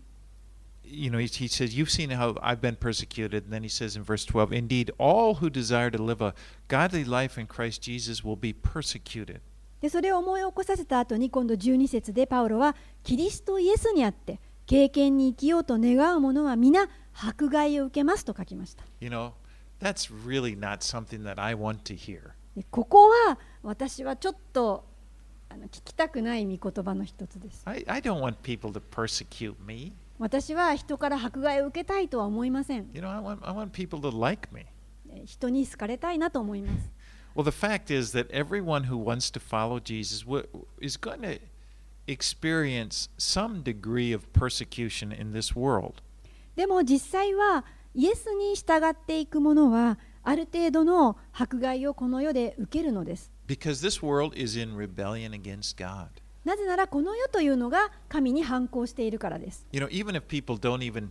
you know, he, he says, you've seen how I've been persecuted. And then he says in verse twelve, indeed, all who desire to live a godly life in Christ Jesus will be persecuted. でそれを思い起こさせた後に今度じゅうに節でパウロはキリストイエスにあって経験に生きようと願う者は皆迫害を受けますと書きました。 You know, that's really not something that I want to hear. でここは私はちょっとあの聞きたくない御言葉の一つです。 I, I don't want people to persecute me. 私は人から迫害を受けたいとは思いません。 You know, I want, I want people to like me. 人に好かれたいなと思います。 Well, the fact is that everyone who wants to follow Jesus wi- is going to experience some degree of persecution in this world. でも実際はイエスに従っていく者はある程度の迫害をこの世で受けるのです。 Because this world is in rebellion against God. なぜならこの世というのが神に反抗しているからです。 You know, even if people don't even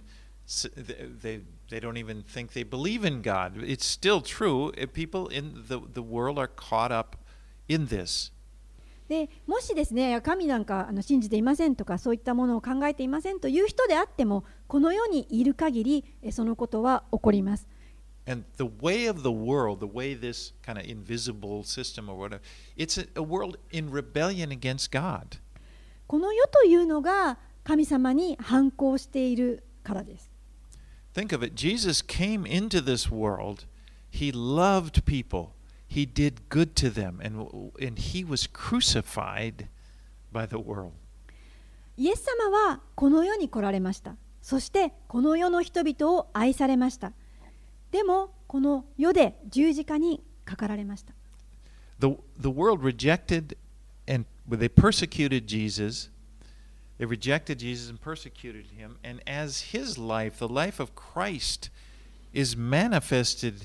they they don't even think they believe in God, it's still true. If people in the the world are caught up in this. でもしですね、神なんかあの信じていませんとかそういったものを考えていませんという人であっても、この世にいる限りそのことは起こります。 And the way of the world, the way this kind of invisible system or whatever, it's a, a world in rebellion against God. この世というのが神様に反抗しているからです。 Think of it. Jesus came into this world. He loved people. He did good to them, and, and he was crucified by the world. イエス様はこの世に来られました。そしてこの世の人々を愛されました。でもこの世で十字架にかかられました。 The, the world rejected and they persecuted Jesus. They rejected Jesus and persecuted him. And as his life, the life of Christ, is manifested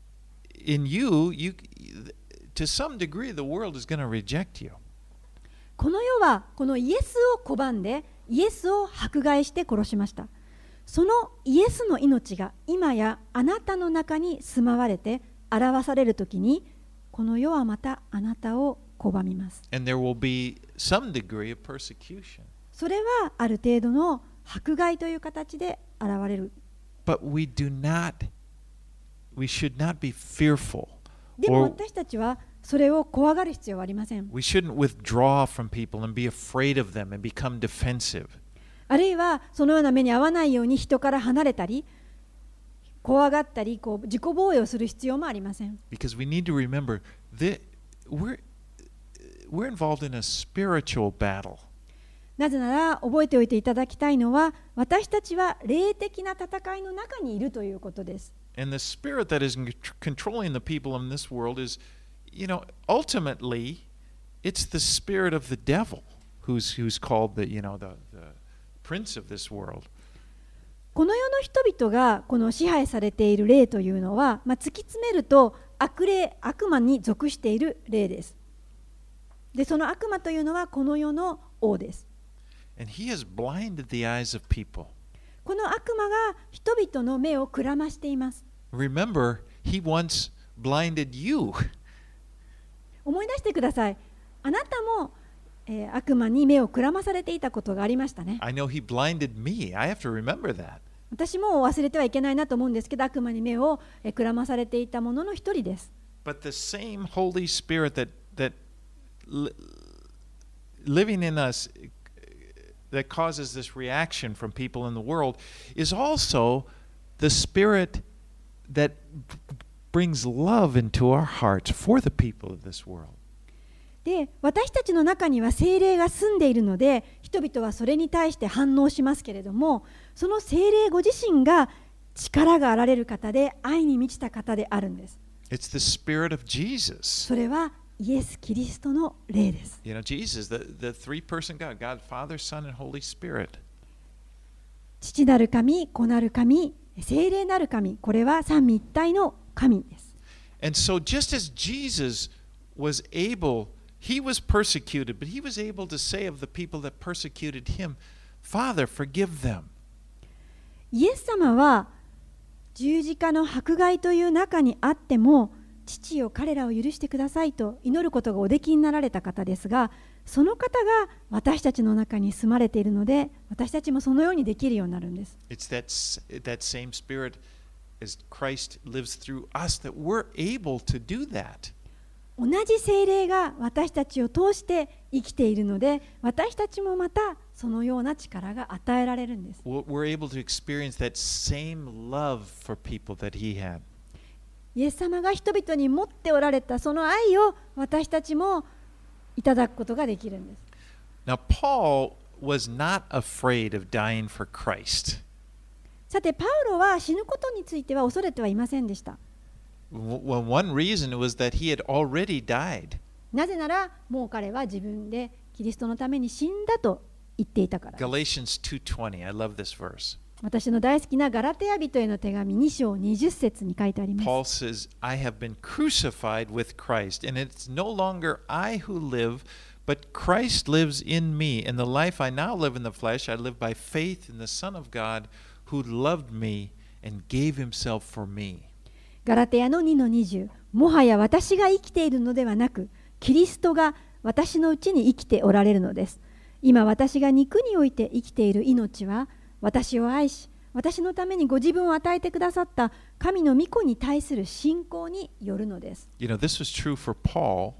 in you, you to some degree, the world is going to reject you. この世はこのイエスを拒んで、イエスを迫害して殺しました。そのイエスの命が今やあなたの中に住まわれて表されるときに、この世はまたあなたを拒みます。 And there will be some degree of persecution. それはある程度の迫害という形で現れる。 But we do not, we should not be fearful. でも Or 私たちはそれを怖がる必要はありません。 we shouldn't withdraw from people and be afraid of them and become defensive. あるいはそのような目に遭わないように人から離れたり、怖がったり、こう自己防衛をする必要もありません。 Because we need to remember that we're, we're involved in a spiritual battle. なぜなら覚えておいていただきたいのは、私たちは霊的な戦いの中にいるということです。 And the spirit that is controlling the people in this world is, you know, ultimately, it's the spirit of the devil who's, who's called the, you know, the, the prince of this world. この世の人々がこの支配されている霊というのは、まあ、突き詰めると悪霊、悪魔に属している霊です。で、その悪魔というのはこの世の王です。 And he has blinded the eyes of people. この悪魔が人々の目をくらましています。 Remember, he once blinded you. 思い出してください。あなたも、えー、悪魔に目をくらまされていたことがありましたね。 I know he blinded me. I have to remember that. 私も忘れてはいけないなと思うんですけど、悪魔に目をくらまされていたものの一人です。 But the same Holy Spirit that, that li- living in us that causes this reaction from people in the world is also the Spirit that brings love into our hearts for the people of this world. で、私たちの中には聖霊が住んでいるので、人々はそれに対して反応しますけれども、その聖霊ご自身が力があられる方で、愛に満ちた方であるんです。 It's the Spirit of Jesus. それはイエス・キリストの霊です。 You know, Jesus, the, the three-person God, God, Father, Son, and Holy Spirit. 父なる神、子なる神、聖霊なる神、これは三位一体の神です。 And so just as Jesus was able, he was persecuted, but he was able to say of the people that persecuted him, Father, forgive them. イエス様は十字架の迫害という中にあっても、父よ彼らを許してくださいと祈ることがおできになられた方ですが、その方が私たちの中に住まれているので、私たちもそのようにできるようになるんです。 It's that, that same Spirit as Christ lives through us that we're able to do that. 同じ聖霊が私たちを通して生きているので、私たちもまたそのような力が与えられるんです。 We're able to experience that same love for people that he had. イエス様が人々に持っておられたその愛を私たちもいただくことができるんです。 Now, Paul was not afraid of dying for Christ. さて、パウロは死ぬことについては恐れてはいませんでした。 Well, one reason was that he had already died. なぜなら、もう彼は自分でキリストのために死んだと言っていたからです。 Galatians two twenty, I love this verse. 私の大好きなガラテヤ人への手紙に章にじゅっ節に書いてあります。 Paul says, I have been crucified with Christ, and it's no longer I who live, but Christ lives in me. And the life I now live in the flesh, I live by faith in the Son of God who loved me and gave himself for me. ガラテヤのにのにじゅう、もはや私が生きているのではなく、キリストが私のうちに生きておられるのです。今私が肉において生きている命は、私を愛し、私のためにご自分を与えてくださった神の御子に対する信仰によるのです。 You know, this was true for Paul,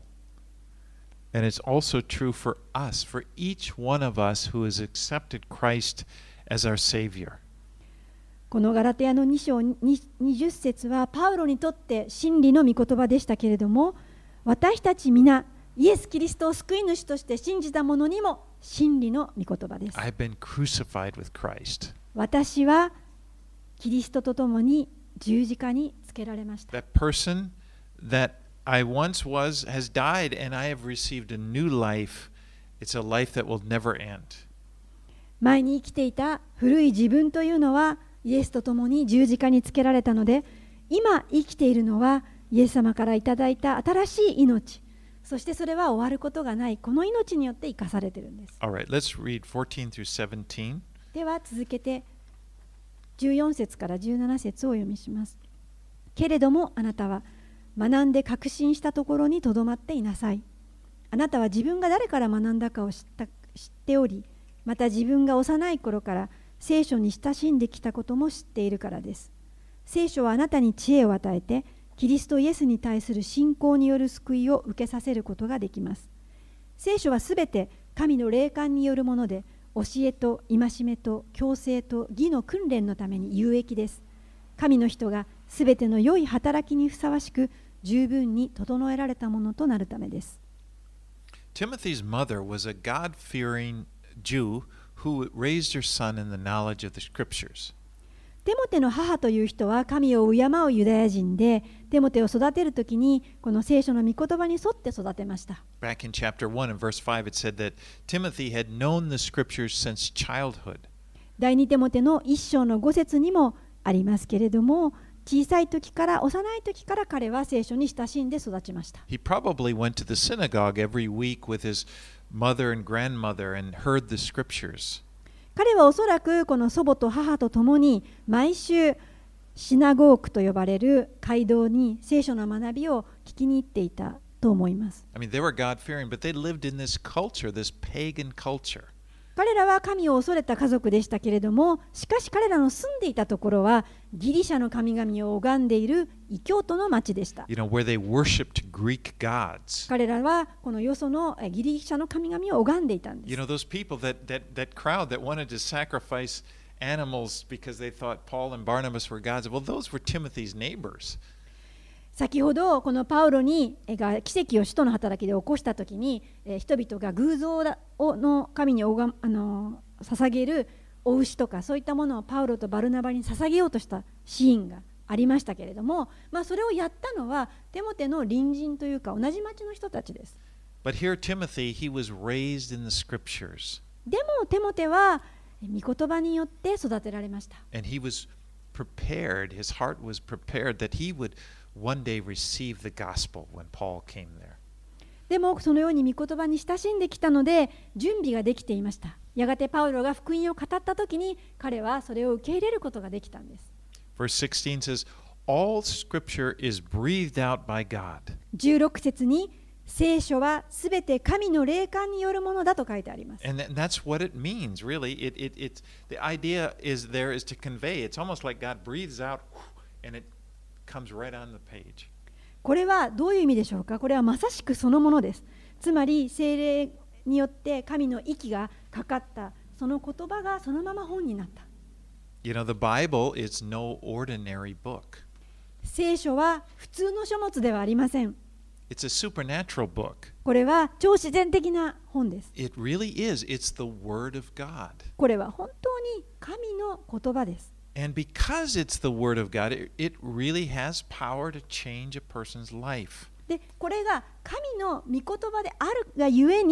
and it's also true for us, for each one of us who has accepted Christ as our Savior. このガラテヤのに章にじゅっ節はパウロにとって真理の御言葉でしたけれども、私たち皆イエス・キリストを救い主として信じた者にも真理の御言葉です。 I've been crucified with Christ. 私はキリストと共に十字架につけられました。 That person that I once was has died, and I have received a new life. It's a life that will never end. 前に生きていた古い自分というのはイエスと共に十字架につけられたので、今生きているのはイエス様からいただいた新しい命、そしてそれは終わることがないこの命によって生かされているんです。 All right, let's read fourteen through seventeen. では続けてじゅうよん節からじゅうなな節をお読みします。けれどもあなたは学んで確信したところにとどまっていなさい。あなたは自分が誰から学んだかを知った、知っており、また自分が幼い頃から聖書に親しんできたことも知っているからです。聖書はあなたに知恵を与えて、キリストイエスに対する信仰による救いを受けさせることができます。聖書はすべて神の霊感によるもので、教えと戒めと矯正と義の訓練のために有益です。神の人がすべての良い働きにふさわしく、十分に整えられたものとなるためです。 Timothy's mother was a God-fearing Jew who raised her son in the knowledge of the scriptures. テモテの母という人は神を敬うユダヤ人で、テモテを育てるときにこの聖書の御言葉に沿って育てました。 Back in chapter one and verse five, it said that Timothy had known the scriptures since childhood. 第二テモテの一章の五節にもありますけれども、小さい時から幼い時から彼は聖書に親しんで育ちました。 He probably went to the synagogue every week with his mother and grandmother and heard the scriptures. 彼はおそらくこの祖母と母と共に毎週シナゴークと呼ばれる街道に聖書の学びを聞きに行っていたと思います。 I mean, they were God-fearing, but they lived in this culture, this pagan culture. 彼らは神を恐れた家族でしたけれども、しかし彼らの住んでいたところはギリシャの神々を拝んでいる異教徒の町でした。 You know, where they worshipped Greek gods. 彼らはこのよそのギリシャの神々を拝んでいたんです。 You know, those people, that, that, that crowd that wanted to sacrifice animals because they thought Paul and Barnabas were gods, well, those were Timothy's neighbors. 先ほどこのパウロにが奇跡を使徒の働きで起こしたときに、えー、人々が偶像の神におがあの捧げるお牛とかそういったものをパウロとバルナバに捧げようとしたシーンがありましたけれども、まあ、それをやったのはテモテの隣人というか同じ町の人たちです。 But here Timothy, he was raised in the scriptures. でもテモテは御言葉によって育てられました。 And he was prepared, his heart was prepared that he would one day receive the gospel when Paul came there. でもそのように御言葉に親しんできたので準備ができていました。やがてパウロが福音を語ったときに彼はそれを受け入れることができたんです。 Verse sixteen says, All scripture is breathed out by God. じゅうろく節に聖書はすべて神の霊感によるものだと書いてあります。 And that's what it means, really. It, it, it's, the idea is there is to convey. It's almost like God breathes out and it comes right on the page. これはどういう意味でしょうか。これはまさしくそのものです。つまり聖霊によって神の息がかかったその言葉がそのまま本になった。 You know, the Bible is no ordinary book. 聖書は普通の書物ではありません。 It's a supernatural book. これは超自然的な本です。 It really is. It's the Word of God. これは本当に神の言葉です。 And because it's the Word of God, it, it really has power to change a person's life. で、これが神の御言葉であるがゆえに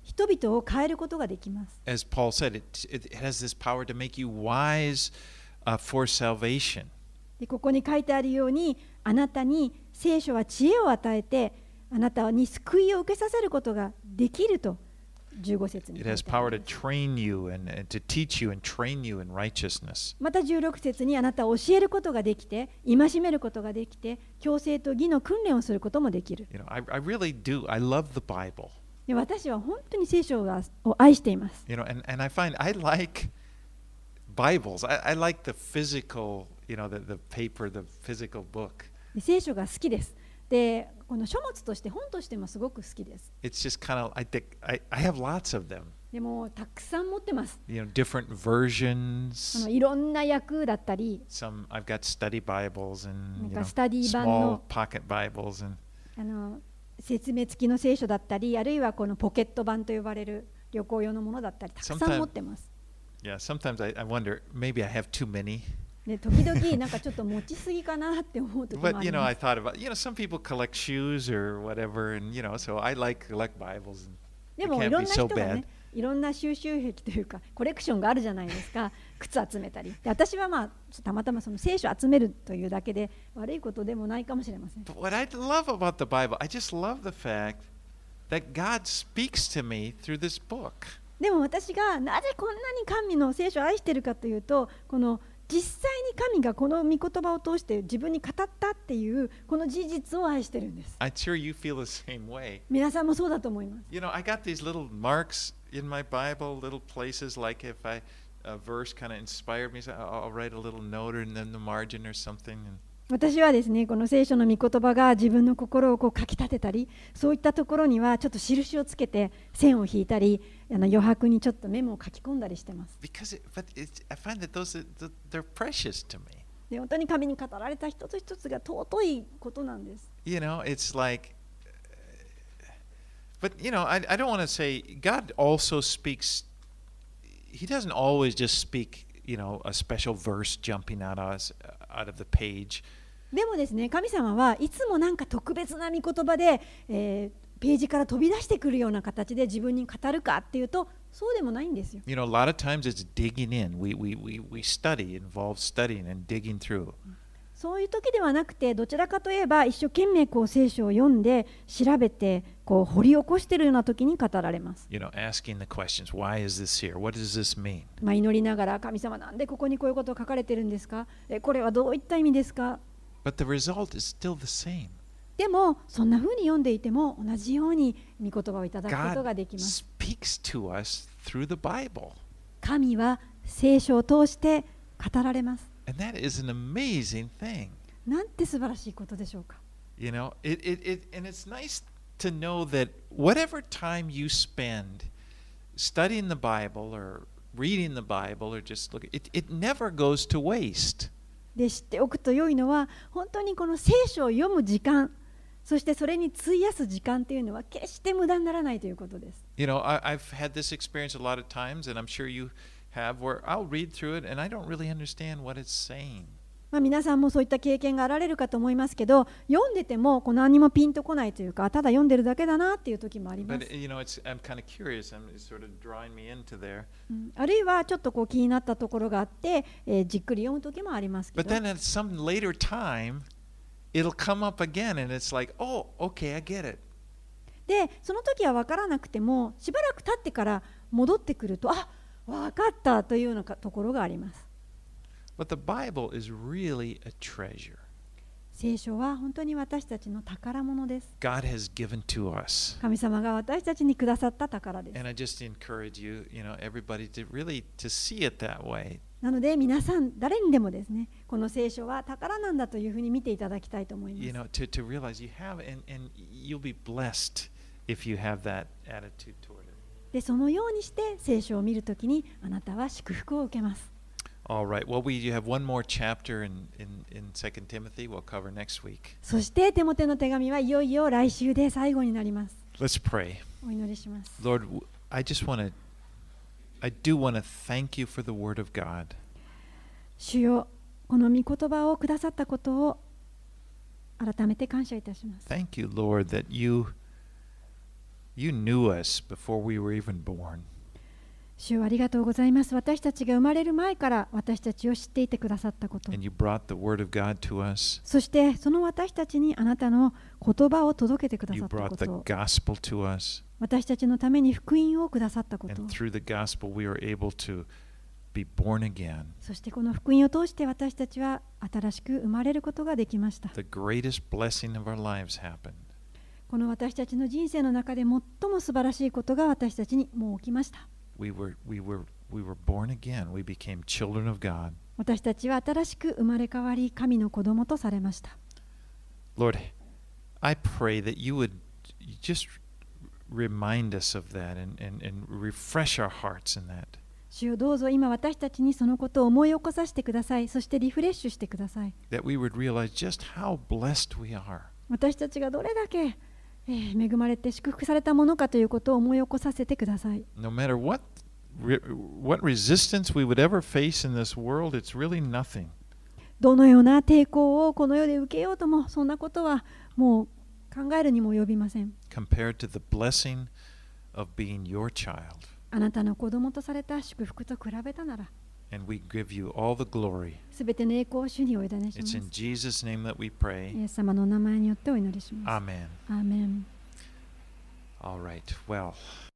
人々を変えることができます。 As Paul said, it, it has this power to make you wise uh, for salvation. でここに書いてあるように、あなたに聖書は知恵を与えて、あなたに救いを受けさせることができるとじゅうご節に書 It い has てあ power り to ます。 train you and, and to teach you and train you in righteousness. またじゅうろく節にあなたを教えることができて、戒めることができて、強制と義の訓練をすることもできる。 You know, I, I really do. I love the Bible. で私は本当に聖書がを愛しています。 You know, and, and I find I like Bibles. I, I like the physical, you know, the, the paper, the physical book. で聖書が好きです。で、この書物として本としてもすごく好きです。 It's just kind of, I think, I, I have lots of them. でもたくさん持ってます。 You know, different あ versions. のいろんな訳だったり、 Some I've got study Bibles and you なん know, かスタディ版 small の pocket Bibles and あの説明付きの聖書だったり、あるいはこのポケット版と呼ばれる旅行用のものだったり、たくさん Sometime- 持ってます。 yeah. Sometimes I, I wonder maybe I have too many. で時々なんかちょっと持ちすぎかなって思う時もあ But り you know, ま I す。 thought about you know some people collect shoes or whatever, and you know, so I like collect Bibles. And で it もい can't ろん be な so 人が bad. ね、いろんな収集癖というかコレクションがあるじゃないですか。靴集めたり。で私はまあたまたまその聖書集めるというだけで悪いことでもないかもしれません。 But what I love about the Bible, I just love the fact that God speaks to me through this book. でも私がなぜこんなに神の聖書を愛しているかというと、この実際に神がこの御言葉を通して自分に語ったっていうこの事実を愛してるんです。 I'm sure you feel the same way. 皆さんもそうだと思います。 You know, I got these little marks in my Bible, little places like if I a verse kind of inspired me, so I'll, I'll write a little note or in the margin or something. And 私はですね、この聖書の御言葉が自分の心をこうかきたてたり、そういったところにはちょっと印をつけて線を引いたり、あの余白にちょっとメモを書き込んだりしてます。 because, it, but it's, I find that those are- th- they're precious to me. で本当に神に語られた一つ一つが尊いことなんです。 You know, it's like, but you know, I, I don't want to say God also speaks. He doesn't always just speak, you know, a special verse jumping out of us, out of the page. でもですね、神様はいつもなんか特別な御言葉で、えーページから飛び出してくるような形で自分に語るかっていうと、そうでもないんですよ。 You know, a lot of times it's digging in. We we we we study, involves studying and digging through. そういう時ではなくて、どちらかといえば一生懸命こう聖書を読んで調べてこう掘り起こしているような時に語られます。 You know, asking the questions. Why is this here? What does this mean? まあ、祈りながら、神様なんでここにこういうことが書かれてるんですか？えこれはどういった意味ですか？ But the result is still the same. でもそんな風に読んでいても同じように御言葉をいただくことができ God ます。 speaks to us through the Bible. 神は聖書を通して語られます。 And that is an amazing thing. なんて素晴らしいことでしょうか。 You know, it, it, it, and it's nice to know that whatever time you spend studying the Bible or reading the Bible or just looking, it, it never goes to waste. で知っておくと良いのは、本当にこの聖書を読む時間、そしてそれに費やす時間というのは決して無駄にならないということです。 You know, I, I've had this experience a lot of times, and I'm sure you have, where I'll read through it and I don't really understand what it's saying. まあ、皆さんもそういった経験があられるかと思いますけど、読んでてもこう何もピンとこないというか、ただ読んでるだけだなっていう時もあります。 But you know, it's I'm kind of curious. I'm it's sort of drawing me into there. うんあるいはちょっとこう気になったところがあって、えーじっくり読む時もありますけ But ど、 then at some later time, it'll come up again, and it's like, oh, okay, I get it. でその時は分からなくてもしばらく経ってから戻ってくると、あ、分かったというようなかところがあります。 But the Bible is really a treasure. 聖書は本当に私たちの宝物です。 God has given to us. 神様が私たちにくださった宝です。 And I just encourage you, you know, everybody to really to see it that way. なので皆さん誰にでもですね、この聖書は宝なんだというふうに見ていただきたいと思います。 You know, to, to realize you have, and, and you'll be blessed if you have that attitude toward it. でそのようにして聖書を見るときにあなたは祝福を受けます。 All right. Well, we have one more chapter in, in, in Second Timothy we'll cover next week. そしてテモテの手紙はいよいよ来週で最後になります。 Let's pray. お祈りします。 Lord, w- I just want to, I do want to thank you for the Word of God. 主よ、この御言葉をくださったことを改めて感謝いたします。 Thank you, Lord, that you You knew us before we were even born. 主よありがとうございます。私たちが生まれる前から私たちを知っていてくださったこと。 And you brought the word of God to us. そしてその私たちにあなたの言葉を届けてくだ You さったこ brought the と。 gospel to us. 私たちのために福音をくださったこと。 And through the gospel, we are able to be born again. そしてこの福音を通して私たちは新しく生まれることができました。 The greatest blessing of our lives happened. この私たちの人生の中で最も素晴らしいことが私たちにもう起きました。 We were, we were, we were born again. We became children of God. 私たちは新しく生まれ変わり、神の子供とされました。 Lord, I pray that you would just remind us of that and, and, and refresh our hearts in that. 主よどうぞ今私たちにそのことを思い起こさせてください。そしてリフレッシュしてください。 That we would realize just how blessed we are. 私たちがどれだけ、えー恵まれて祝福されたものかということを思い起こさせてください。 No matter what, re, what resistance we would ever face in this world, it's really nothing. どのような抵抗をこの世で受けようとも、そんなことはもう考えるにも及びません。 Compared to the blessing of being your child. あなたの子供とされた祝福と比べたなら、 And we give you all the glory. すべての栄光を主にお委ねしま It's す。 in Jesus' name that we イ pray. エス様のお名前によってお祈りします。 Amen. アーメン。 All right. Well.